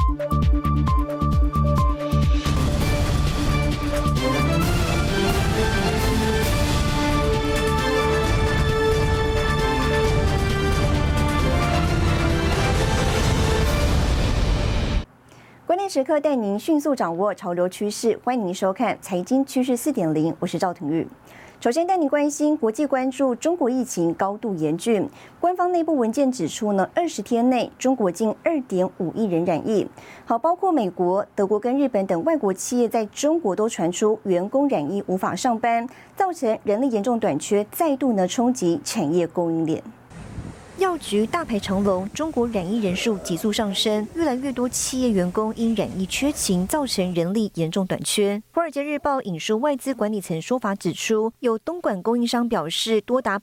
关键时刻带您迅速掌握潮流趋势，欢迎您收看《财经趋势4.0》，我是赵廷玉。首先带您关心国际关注中国疫情高度严峻，官方内部文件指出呢，20天内中国近2.5亿人染疫。好，包括美国、德国跟日本等外国企业在中国都传出员工染疫无法上班，造成人力严重短缺，再度呢冲击产业供应链。药局大排长龙，中国染疫人数急速上升，越来越多企业员工因染疫缺勤，造成人力严重短缺。华尔街日报引述外资管理层说法指出，有东莞供应商表示，多达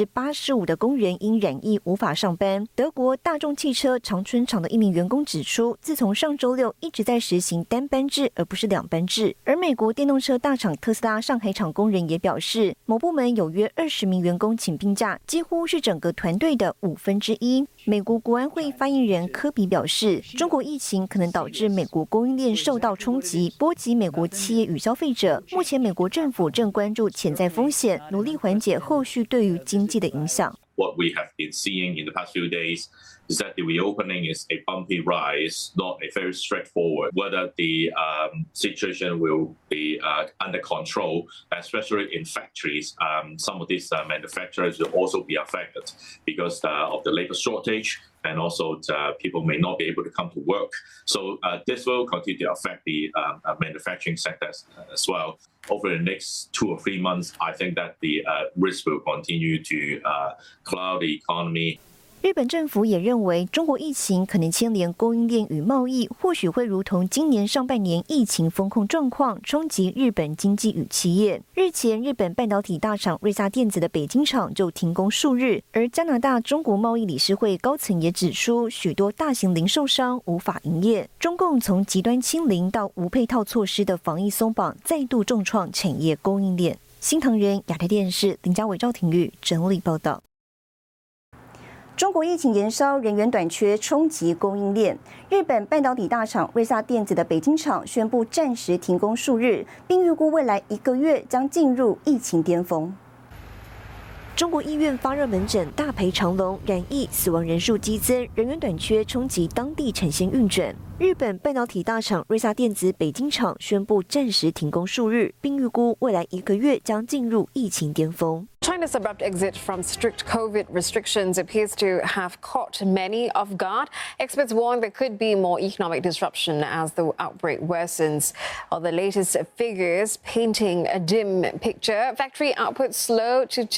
85%的工人因染疫无法上班。德国大众汽车长春厂的一名员工指出，自从上周六一直在实行单班制，而不是2班制。而美国电动车大厂特斯拉上海厂工人也表示，某部门有约20名员工请病假，几乎是整个团队的1/5。美国国安会发言人科比表示，中国疫情可能导致美国供应链受到冲击，波及美国企业与消费者。目前美国政府正关注潜在风险，努力缓解后续对于经济的影响。 What we have been seeing in the past few days is that the reopening is a bumpy rise, not a very straightforward. Whether the situation will be under control, especially in factories, some of these manufacturers will also be affected because of the labor shortage. And also, people may not be able to come to work. So this will continue to affect the manufacturing sector as well. Over the next 2 or 3 months, I think that the risk will continue to cloud the economy. 日本政府也认为，中国疫情可能牵连供应链与贸易，或许会如同今年上半年疫情封控状况，冲击日本经济与企业。日前，日本半导体大厂瑞萨电子的北京厂就停工数日，而加拿大中国贸易理事会高层也指出，许多大型零售商无法营业。中共从极端清零到无配套措施的防疫松绑，再度重创产业供应链。新唐人亚太电视林家伟、赵廷玉整理报道。中国疫情延烧，人员短缺冲击供应链。日本半导体大厂瑞萨电子的北京厂宣布暂时停工数日，并预估未来1个月将进入疫情巅峰。中国医院发热门诊大排长龙，染疫死亡人数激增，人员短缺冲击当地产线运转。日本半导体大厂瑞萨电子北京厂宣布暂时停工数日，并预估未来1个月将进入疫情巅峰。 China's abrupt exit from strict COVID restrictions appears to have caught many off guard. Experts warn there could be more economic disruption as the outbreak worsens. While the latest figures painting a dim picture, factory output slowed to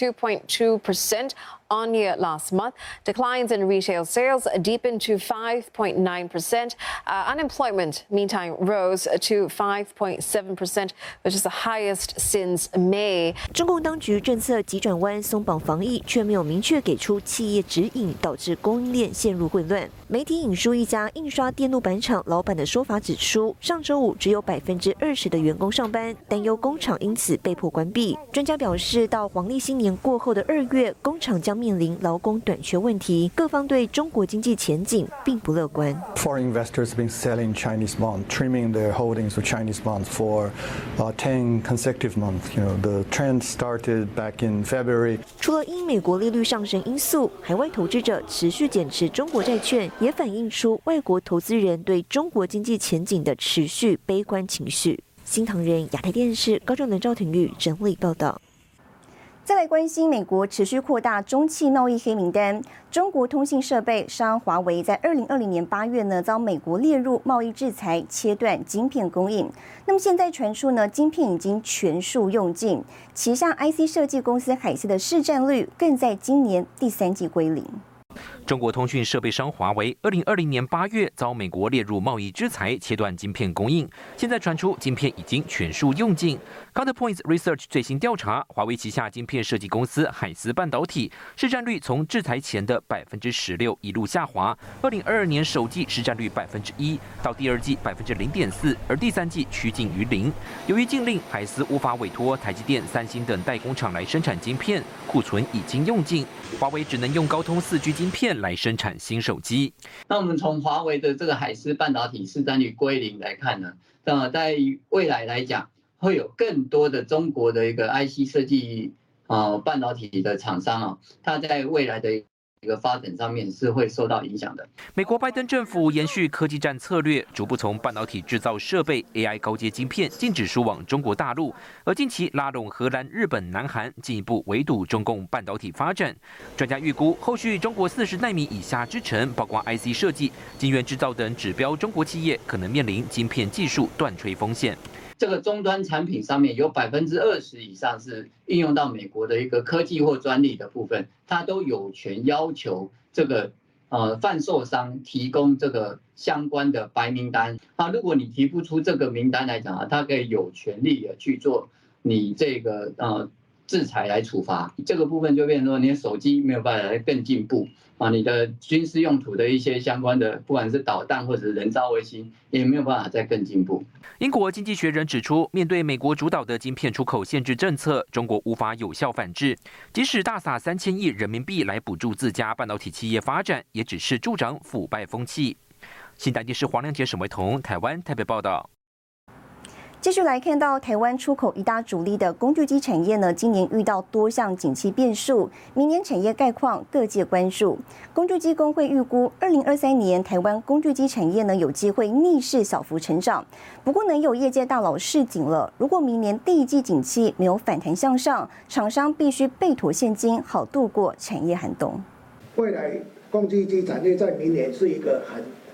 2.2%. On year last month. Declines in retail sales deepened to 5.9%. Unemployment, meantime, rose to 5.7%, which is the highest since May. 中共当局政策急转弯，松绑防疫，却没有明确给出企业指引，导致供应链陷入混乱。媒体引述一家印刷电路板厂老板的说法指出，上周五只有20%的员工上班，担忧工厂因此被迫关闭。专家表示，到黄历新年过后的2月，工厂将面临劳工短缺问题，各方对中国经济前景并不乐观。 Foreign investors have been selling Chinese bonds, trimming their holdings of Chinese bonds for 10 consecutive months. The trend started back in February. 除了因美国利率上升因素，海外投资者持续减持中国债券，也反映出外国投资人对中国经济前景的持续悲观情绪。新唐人亚太电视高正伦、赵廷玉整理报道。再来关心美国持续扩大中企贸易黑名单，中国通信设备商华为在2020年8月呢遭美国列入贸易制裁，切断晶片供应。那么现在传出呢，晶片已经全数用尽，旗下 IC 设计公司海思的市占率更在今年第3季归零。 中国通讯设备商华为2020年8月遭美国列入贸易制裁，切断晶片供应。现在传出晶片已经全数用尽。 Counterpoint Research 最新调查，华为旗下晶片设计公司海思半导体市占率从制裁前的16%一路下滑，2022年首季市占率1%，到第二季0.4%，而第三季趋近于0。由于禁令，海思无法委托台积电、三星等代工厂来生产晶片，库存已经用尽，华为只能用高通4G 晶片来生产新手机。 那我们从华为的这个海思半导体市占率归0来看呢，在未来来讲，会有更多的中国的一个 IC 设计半导体的厂商它在未来的一个发展上面是会受到影响的。 美国拜登政府延续科技战策略，逐步从半导体制造设备、AI 高阶晶片禁止输往中国大陆，而近期拉拢荷兰、日本、南韩，进一步围堵中共半导体发展。专家预估，后续中国40奈米以下制程，包括 IC 设计、晶圆制造等指标中国企业，可能面临晶片技术断炊风险。 这个终端产品上面有20%以上是应用到美国的一个科技或专利的部分，它都有权要求这个贩售商提供这个相关的白名单。如果你提不出这个名单来讲它可以有权利的去做你这个制裁来处罚。这个部分就变成说，你的手机没有办法更进步你的军事用途的一些相关的，不管是导弹或者是人造卫星，也没有办法再更进步。 英国经济学人指出，面对美国主导的晶片出口限制政策，中国无法有效反制。即使大撒3000亿人民币来补助自家半导体企业发展，也只是助长腐败风气。新台电视黄亮杰、沈维彤，台湾台北报道。 继续来看到台湾出口一大主力的工具机产业呢，今年遇到多项景气变数，明年产业概况各界关注。工具机工会预估，2023年台湾工具机产业呢有机会逆势小幅成长。不过呢，有业界大佬示警了，如果明年第一季景气没有反弹向上，厂商必须备妥现金，好度过产业寒冬。 未来工具机产业在明年是一个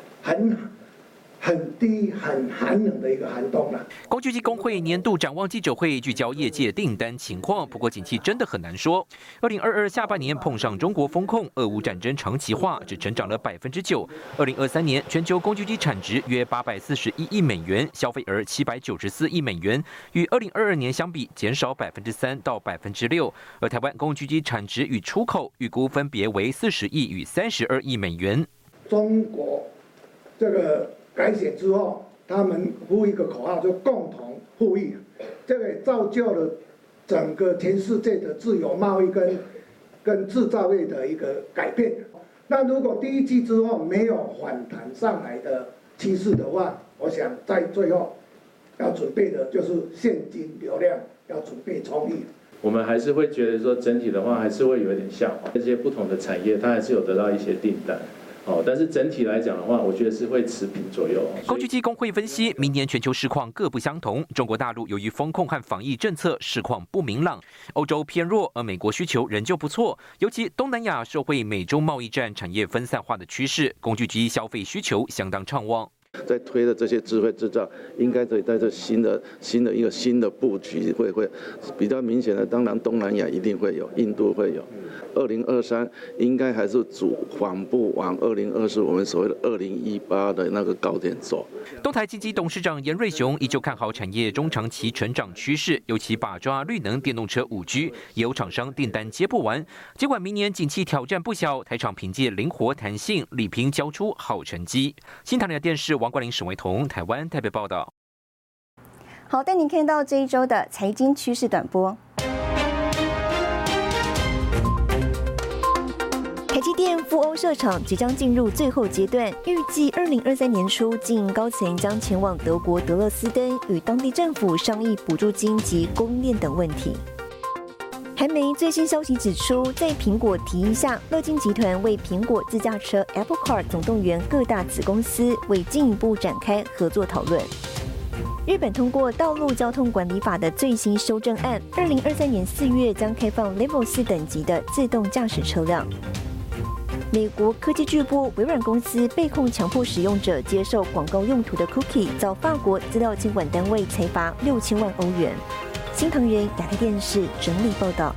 很低、很寒冷的一个寒冬了。 工具机工会年度展望记者会聚焦业界订单情况，不过景气真的很难说。2022下半年碰上中国风控、俄乌战争长期化，只成长了9%。2023年全球工具机产值约841亿美元，消费额794亿美元，与2022年相比减少3%到6%。而台湾工具机产值与出口预估分别为40亿与32亿美元。 中国这个改选之后，他们呼一个口号，就共同富裕，这个也造就了整个全世界的自由贸易跟制造业的一个改变。那如果第一季之后没有反弹上来的趋势的话，我想在最后要准备的就是现金流量要准备充裕。 我们还是会觉得说，整体的话还是会有一点下滑，这些不同的产业它还是有得到一些订单。但是整体来讲的话，我觉得是会持平左右。 工具机工会分析，明年全球市况各不相同。中国大陆由于风控和防疫政策，市况不明朗；欧洲偏弱，而美国需求仍旧不错。尤其东南亚受惠美中贸易战产业分散化的趋势，工具机消费需求相当畅旺。 在推的这些智慧制造，应该在这新的布局会比较明显的。当然，东南亚一定会有，印度会有。2023应该还是缓步往2024我们所谓的2018的那个高点走。 东台经济董事长严瑞雄依旧看好产业中长期成长趋势，尤其把抓绿能电动车5G，也有厂商订单接不完。尽管明年景气挑战不小，台厂凭借灵活弹性，力拼交出好成绩。新唐人电视王冠霖、沈维彤，台湾台北报道。 好，带您看到这一周的财经趋势短波。台积电赴欧设厂即将进入最后阶段，预计2023年初，经营高层将前往德国德勒斯登与当地政府商议补助金及供应链等问题。韩媒最新消息指出，在苹果提议下，乐金集团为苹果自驾车 Apple Car 总动员各大子公司，为进一步展开合作讨论。日本通过《道路交通管理法》的最新修正案，2023年4月将开放 Level 4等级的自动驾驶车辆。美国科技巨擘微软公司被控强迫使用者接受广告用途的 cookie， 遭法国资料监管单位裁罚6000万欧元。新唐人亚太电视整理报道。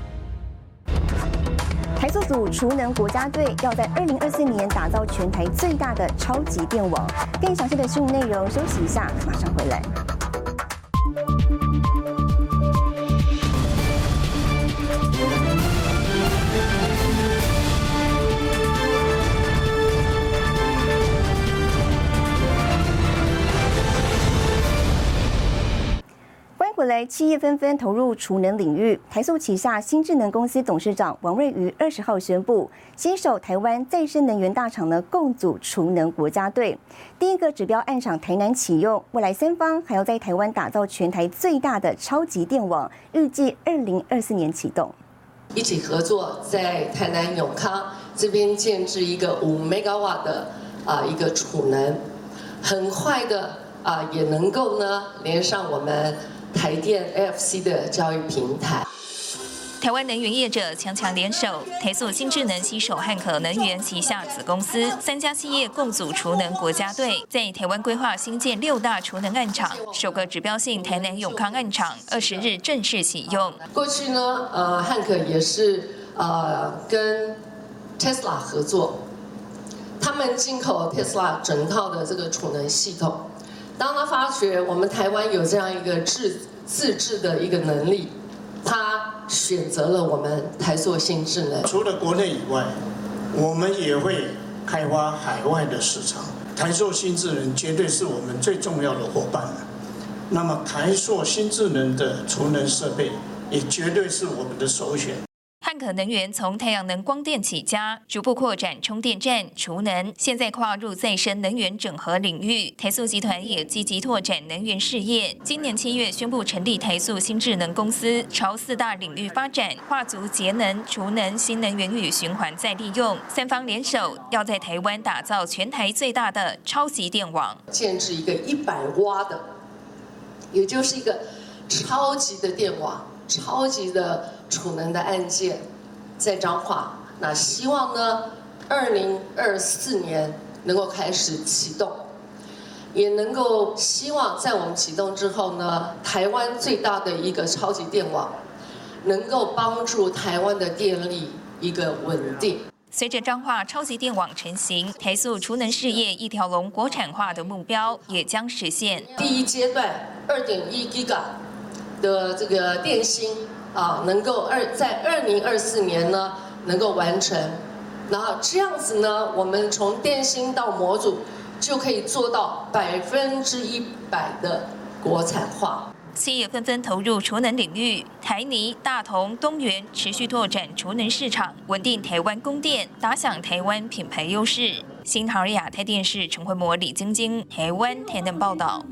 台塑组储能国家队要在2024年打造全台最大的超级电网。更详细的新闻内容，休息一下，马上回来。 回来，企业纷纷投入储能领域。台塑旗下新智能公司董事长王瑞瑜20号宣布，携手台湾再生能源大厂呢，共组储能国家队。第一个指标案厂台南启用，未来三方还要在台湾打造全台最大的超级电网，预计2024年启动。 一起合作，在台南永康这边建置一个5 megawatt 的一个储能，很快的也能够呢连上我们台电 AFC 的教育平台。 台湾能源业者强联手，台塑新智能携手汉可能源旗下子公司3家企业共组储能国家队，在台湾规划新建6大储能案场，首个指标性台南永康案场20日正式启用。 过去呢，汉可也是跟 Tesla 合作，他们进口 Tesla 整套的这个储能系统。当他发觉我们台湾有这样一个自制的一个能力，他选择了我们台塑新智能。 除了国内以外，我们也会开发海外的市场。台塑新智能绝对是我们最重要的伙伴了。那么台塑新智能的储能设备也绝对是我们的首选。 汉可能源从太阳能光电起家，逐步扩展充电站、储能，现在跨入再生能源整合领域。台塑集团也积极拓展能源事业。今年7月宣布成立台塑新智能公司，朝4大领域发展，跨足节能、储能、新能源与循环再利用，三方联手，要在台湾打造全台最大的超级电网， 建置一个100瓦的，也就是一个超级的电网。超级的储能的案件在彰化，那希望呢，2024年能够开始启动，也能够希望在我们启动之后呢，台湾最大的一个超级电网，能够帮助台湾的电力一个稳定。 随着彰化超级电网成型，台塑储能事业一条龙国产化的目标也将实现。 第一阶段2.1 Giga。的这个电芯能够在2024年呢能够完成，然后这样子呢，我们从电芯到模组就可以做到100%的国产化。 企业纷纷投入储能领域，台泥、大同、东元持续拓展储能市场，稳定台湾供电，打响台湾品牌优势。新唐人亚太电视陈慧模、李晶晶，台湾台南报道。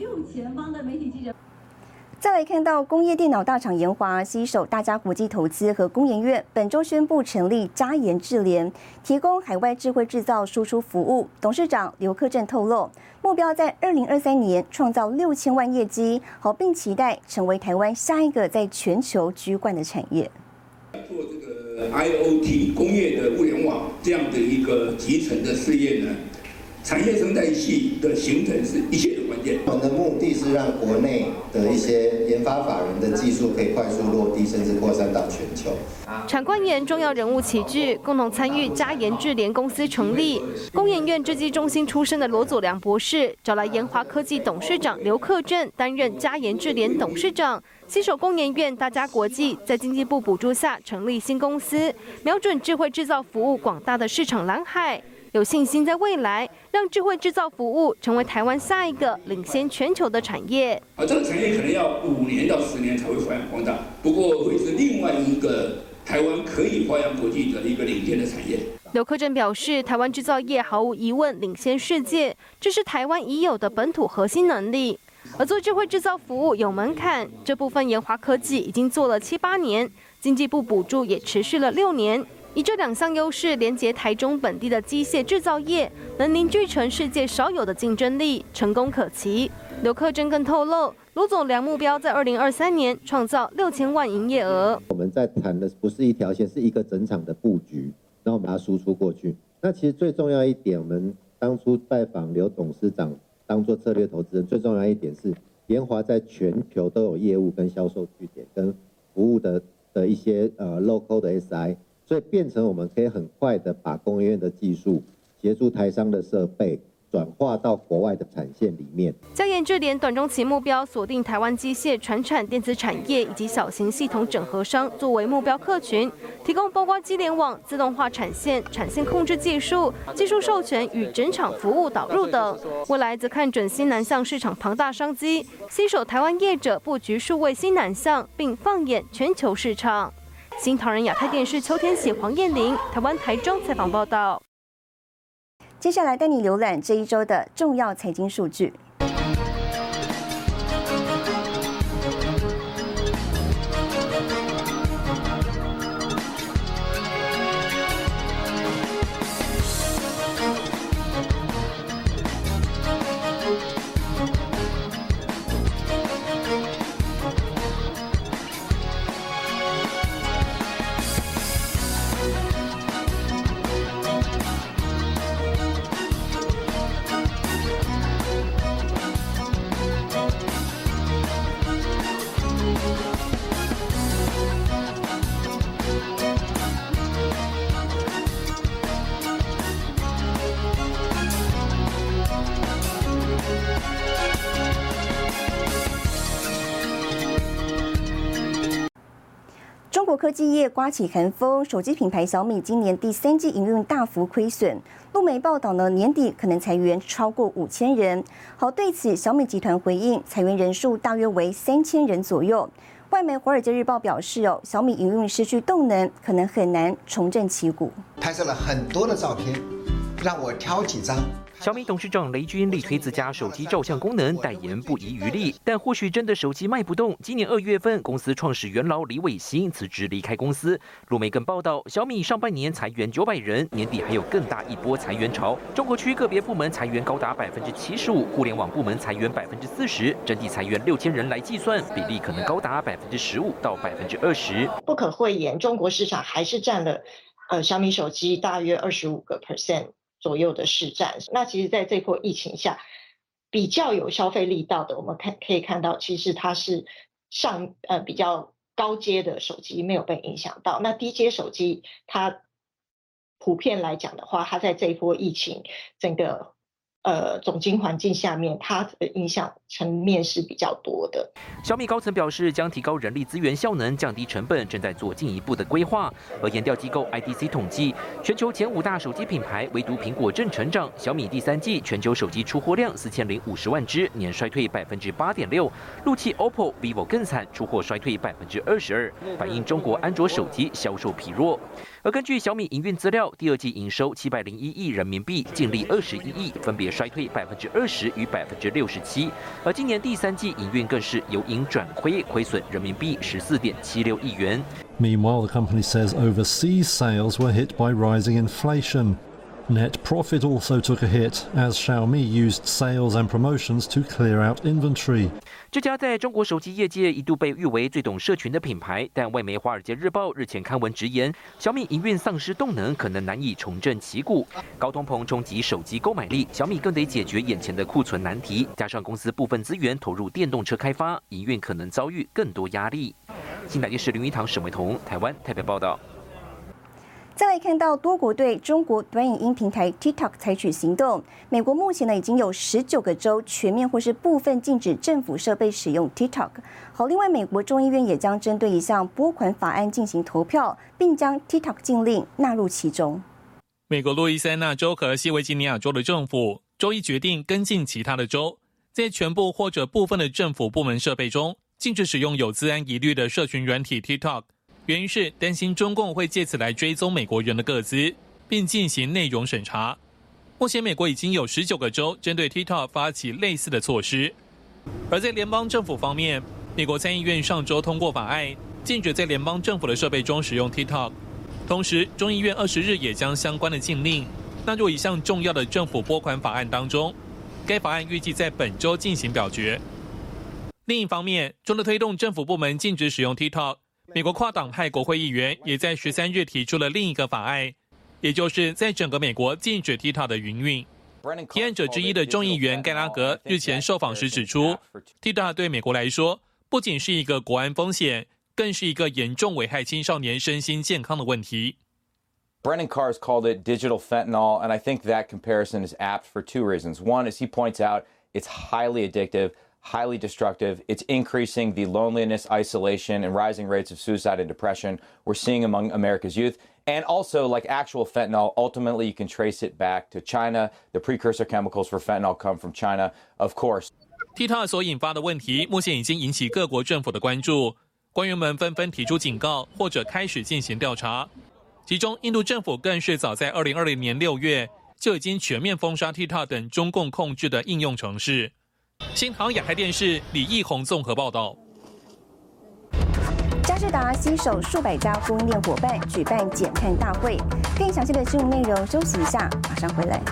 再来看到工业电脑大厂研华携手大家国际投资和工研院，本周宣布成立嘉研智联，提供海外智慧制造输出服务。董事长刘克正透露，目标在2023年创造6000万业绩，并期待成为台湾下一个在全球居冠的产业。 做这个 IoT 工业的物联网这样的一个集成的事业呢，产业生态系的形成是一切的关键。 我们的目的是让国内的一些研发法人的技术可以快速落地，甚至扩散到全球。 产官研重要人物齐聚，共同参与嘉研智联公司成立。工研院制技中心出身的罗佐良博士，找来研华科技董事长刘克正担任嘉研智联董事长。携手工研院、大家国际，在经济部补助下成立新公司，瞄准智慧制造服务广大的市场蓝海。有信心在未来让智慧制造服务成为台湾下一个领先全球的产业。 这个产业可能要5年到10年才会发扬光大，不过会是另外一个台湾可以发扬国际的一个领先的产业。 刘克正表示，台湾制造业毫无疑问领先世界，这是台湾已有的本土核心能力。而做智慧制造服务有门槛，这部分研华科技已经做了7、8年，经济部补助也持续了6年。以这2项优势连结台中本地的机械制造业，能凝聚成世界少有的竞争力，成功可期。刘克正更透露，罗总良目标在2023年创造6000万营业额。 我们在谈的不是一条线，是一个整场的布局，然后我们把它输出过去。那其实最重要一点，我们当初拜访刘董事长当做策略投资人，最重要一点是研华在全球都有业务跟销售据点跟服务的一些local 的 SI。所以变成我们可以很快的把工研院的技术协助台商的设备， 转化到国外的产线里面。 将研制联短中期目标锁定台湾机械、传产、电子产业以及小型系统整合商作为目标客群，提供包括机联网、自动化产线、产线控制技术、技术授权与整场服务导入等。未来则看准新南向市场庞大商机，携手台湾业者布局数位新南向，并放眼全球市场。新唐人亚太电视邱天喜、黄燕玲，台湾台中采访报道。 接下来带你浏览这一周的重要财经数据。中国科技业刮起寒风，手机品牌小米今年第3季营运大幅亏损。路媒报道呢，年底可能裁员超过5000人。好，对此小米集团回应，裁员人数大约为3000人左右。外媒《华尔街日报》表示，小米营运失去动能，可能很难重振旗鼓。 拍摄了很多的照片，让我挑几张。 小米董事长雷军力推自家手机照相功能，代言不遗余力。但或许真的手机卖不动。今年2月份，公司创始元老李伟新辞职离开公司。路媒更报道，小米上半年裁员900人，年底还有更大一波裁员潮。中国区个别部门裁员高达75%，互联网部门裁员40%，整体裁员6000人来计算，比例可能高达15%到20%。 不可讳言，中国市场还是占了小米手机大约25%。左右的市占。那其实在这波疫情下，比较有消费力道的，我们可以看到，其实它是比较高阶的手机没有被影响到。那低阶手机，它普遍来讲的话，它在这一波疫情整个总经环境下面，它的影响层面是比较多的。 小米高层表示，将提高人力资源效能，降低成本，正在做进一步的规划。而研调机构 IDC 统计，全球前5大手机品牌，唯独苹果正成长。小米第3季全球手机出货量4050万只，年衰退8.6%。陆系 OPPO、vivo 更惨，出货衰退22%，反映中国安卓手机销售疲弱。而根据小米营运资料，第2季营收701亿人民币，净利21亿，分别衰退20%与67%。而今年第3季营运更是由盈转亏，亏损人民币14.76亿元。 Meanwhile, the company says overseas sales were hit by rising inflation. Net profit also took a hit as Xiaomi used sales and promotions to clear out inventory. 这家在中国手机业界一度被誉为最懂社群的品牌，但外媒《华尔街日报》日前刊文直言，小米营运丧失动能，可能难以重振旗鼓。高通膨冲击手机购买力，小米更得解决眼前的库存难题，加上公司部分资源投入电动车开发，营运可能遭遇更多压力。新台电视林一堂、沈维彤，台湾台北报道。 再来看到多国对中国短影音平台 TikTok 采取行动，美国目前呢已经有19个州全面或是部分禁止政府设备使用 TikTok。好，另外美国众议院也将针对一项拨款法案进行投票，并将 TikTok 禁令纳入其中。 美国路易斯安那州和西维吉尼亚州的政府周一决定跟进其他的州，在全部或者部分的政府部门设备中禁止使用有资安疑虑的社群软体 TikTok。原因是担心中共会借此来追踪美国人的个资，并进行内容审查。目前美国已经有19个州针对 TikTok 发起类似的措施。而在联邦政府方面，美国参议院上周通过法案，禁止在联邦政府的设备中使用 TikTok。同时，众议院20日也将相关的禁令纳入一项重要的政府拨款法案当中。该法案预计在本周进行表决。另一方面，除了推动政府部门禁止使用 TikTok，美国跨党派国会议员也在13日提出了另一个法案，也就是在整个美国禁止 TikTok 的营运。提案者之一的众议员盖拉格日前受访时指出 ，TikTok 对美国来说不仅是一个国安风险，更是一个严重危害青少年身心健康的问题。 Brennan Carr's called it digital fentanyl, and I think that comparison is apt for two reasons. One, as he points out, it's highly addictive, highly destructive. It's increasing the loneliness, isolation, and rising rates of suicide and depression we're seeing among America's youth. And also, like actual fentanyl, ultimately you can trace it back to China. The precursor chemicals for fentanyl come from China, of course. TikTok 所引发的问题，目前已经引起各国政府的关注，官员们纷纷提出警告，或者开始进行调查。其中，印度政府更是早在2020年6月就已经全面封杀 TikTok 等中共控制的应用程式。新唐亚太电视李义宏综合报道。 佳士达携手数百家供应链伙伴举办减碳大会，更详细的新闻内容，休息一下，马上回来。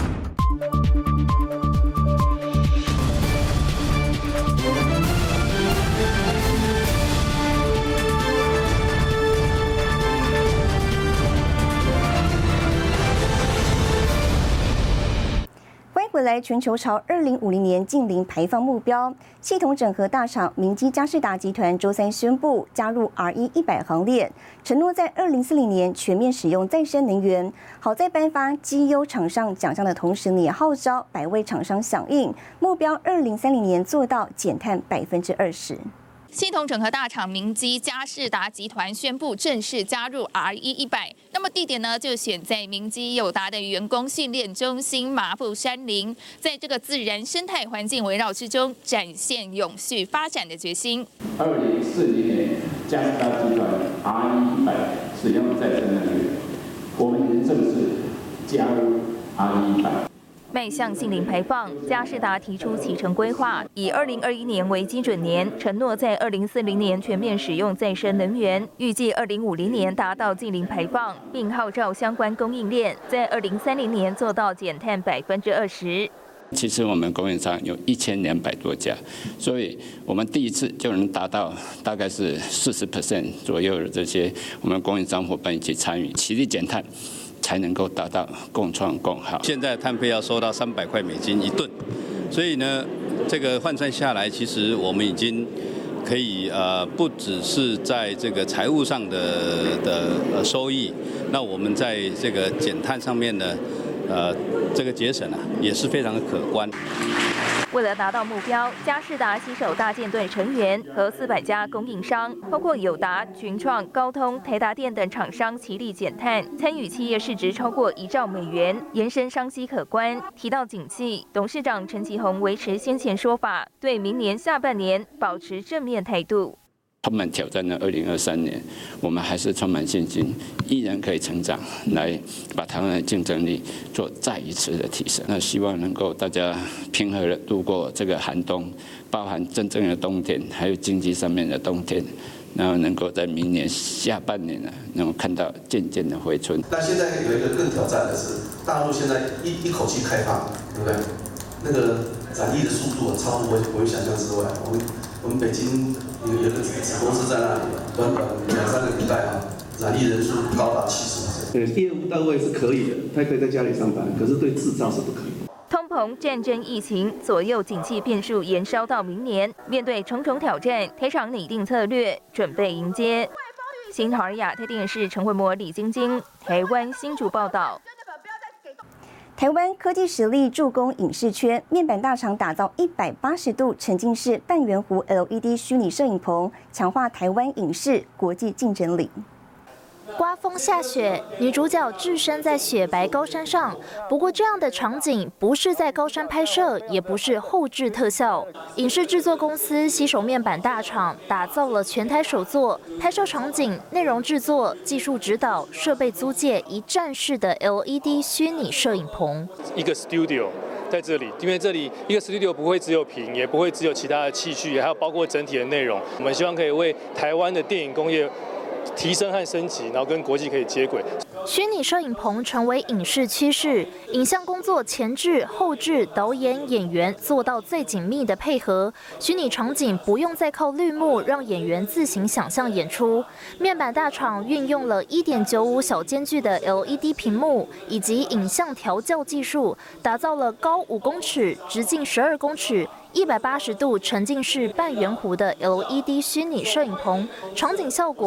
回来，全球朝2050年净零排放目标。系统整合大厂明基佳士达集团周三宣布加入 RE100 行列，承诺在2040年全面使用再生能源。好在颁发绩优厂商奖项的同时，也号召100位厂商响应，目标2030年做到减碳20%。 系统整合大厂明基佳士达集团宣布正式加入 RE100， 那么地点呢就选在明基友达的员工训练中心麻布山林，在这个自然生态环境围绕之中，展现永续发展的决心。 2040年，佳士达集团 RE100 使用再生能源，我们已经正式加入 RE100。 迈向净零排放，佳士达提出启程规划，以2021年为基准年，承诺在2040年全面使用再生能源，预计2050年达到净零排放，并号召相关供应链在2030年做到减碳20%。 其实我们供应商有1200多家，所以我们第一次就能达到大概是40% 左右的这些我们供应商伙伴一起参与，齐力减碳。才能够达到共创共好。 现在碳费要收到$3001吨，所以呢，这个换算下来，其实我们已经可以不只是在这个财务上的收益，那我们在这个减碳上面呢，这个节省也是非常的可观。 为了达到目标，佳士达携手大舰队成员和400家供应商，包括友达、群创、高通、台达电等厂商齐力减碳，参与企业市值超过1兆美元，延伸商机可观。提到景气，董事长陈其宏维持先前说法，对明年下半年保持正面态度。 充满挑战的2023年，我们还是充满信心，依然可以成长，来把台湾的竞争力做再一次的提升。那希望能够大家平和的度过这个寒冬，包含真正的冬天，还有经济上面的冬天，然后能够在明年下半年能够看到渐渐的回春。 那现在有一个更挑战的是，大陆现在一口气开放，对不对？那个染疫的速度超乎我想象之外。我们北京有个子公司在那里，短短2-3个礼拜染疫人数高达70%。 对，业务单位是可以的，他可以在家里上班，可是对制造是不可以。 通膨、战争、疫情左右景气变数延烧到明年，面对重重挑战，台厂拟定策略，准备迎接。新唐亚太电视陈慧模、李晶晶，台湾新竹报道。 台湾科技实力助攻影视圈，面板大厂打造180度沉浸式半圆弧 LED 虚拟摄影棚，强化台湾影视国际竞争力。 刮风下雪，女主角置身在雪白高山上。不过，这样的场景不是在高山拍摄，也不是后置特效。影视制作公司携手面板大厂，打造了全台首座拍摄场景、内容制作、技术指导、设备租借一站式的 LED 虚拟摄影棚。 一个 studio 在这里，因为这里一个 studio 不会只有屏，也不会只有其他的器具，还有包括整体的内容。我们希望可以为台湾的电影工业提升和升级，然后跟国际可以接轨。 虚拟摄影棚成为影视趋势，影像工作前置、后置、导演、演员做到最紧密的配合。虚拟场景不用再靠绿幕，让演员自行想象演出。面板大厂运用了1.95小间距的 LED 屏幕以及影像调校技术，打造了高5公尺、直径12公尺。180度沉浸式半圆弧的 LED 虚拟摄影棚，场景效果更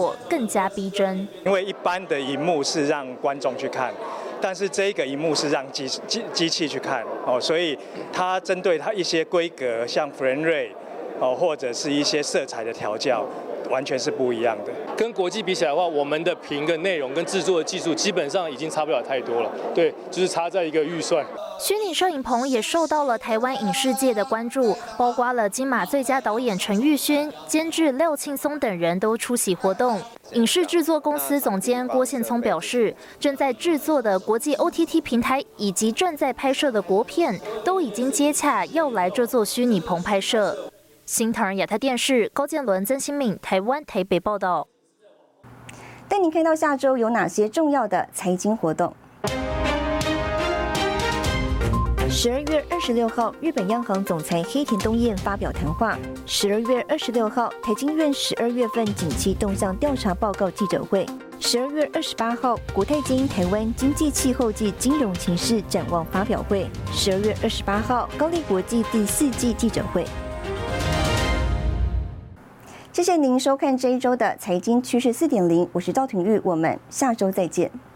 更加逼真。 因为一般的萤幕是让观众去看，但是这个萤幕是让机器去看哦，所以它针对它一些规格，像 frame rate 哦，或者是一些色彩的调教，完全是不一样的。 跟国际比起来的话，我们的屏跟内容跟制作的技术基本上已经差不了太多了。对，就是差在一个预算。 虚拟摄影棚也受到了台湾影视界的关注，包括了金马最佳导演陈玉勋、监制廖庆松等人都出席活动。影视制作公司总监郭宪聪表示，正在制作的国际 OTT 平台以及正在拍摄的国片，都已经接洽要来这座虚拟棚拍摄。新唐人亚太电视高建伦、曾新敏，台湾台北报道。 带您看到下周有哪些重要的财经活动。12月26号，日本央行总裁黑田东彦发表谈话。12月26号，台经院12月份景气动向调查报告记者会。12月28号，国泰金台湾经济气候及金融情势展望发表会。12月28号，高力国际第4季记者会。谢谢您收看这一周的财经趋势4.0，我是赵廷玉，我们下周再见。